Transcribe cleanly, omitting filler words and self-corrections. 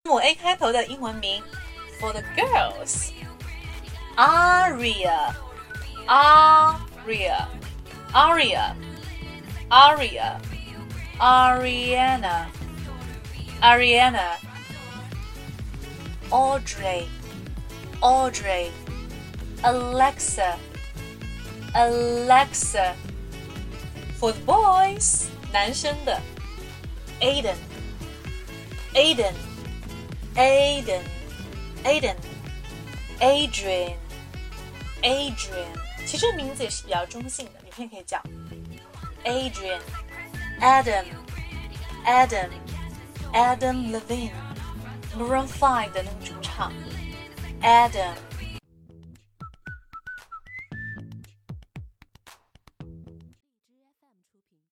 母 A 开头的英文名 for the girls. Aria, Aria, Aria, Aria, Ariana, Ariana, Audrey, Audrey, Alexa, Alexa. For the boys, 男生的 Aiden, Aiden, Aiden, Aiden, Adrian, Adrian. 其实名字也是比较中性的，女生也可以叫 Adrian, Adam, Adam, Adam Levine, Maroon 5的那个主唱 Adam